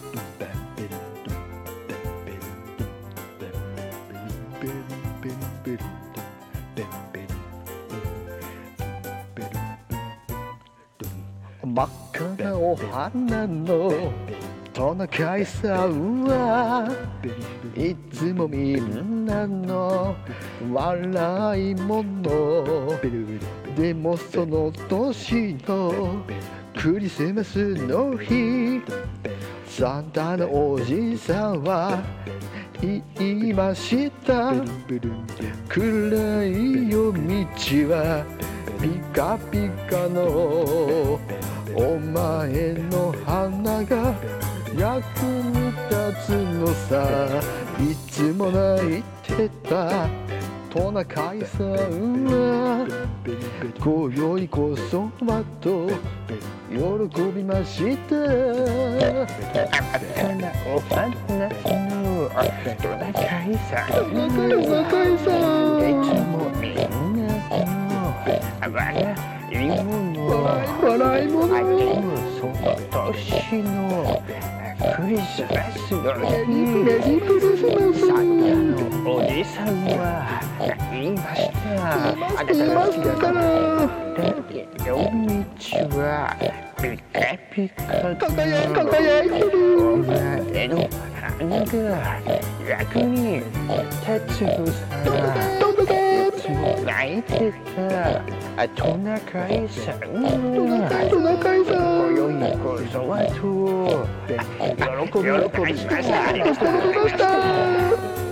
真っ赤なお花のトナカイさんはいつもみんなの笑い者。でもその年のクリスマスの日、サンタのおじさんは言いました。暗い夜道はピカピカのお前の花が役に立つのさ。いつも泣いてたトナカイさんは今宵こそはと喜びました。 お花のトナカイさん、 トナカイさん、 いつもみんなの笑い物。でもその年のクリスマスの日、サンタのおじさんは言いました。あなたの好きだから夜道はピカピカの輝いてる。 お前の花が役に立つのさ。いつも泣いてたトナカイさんはトナカイさん、 今宵こそはと喜びました。 喜びました。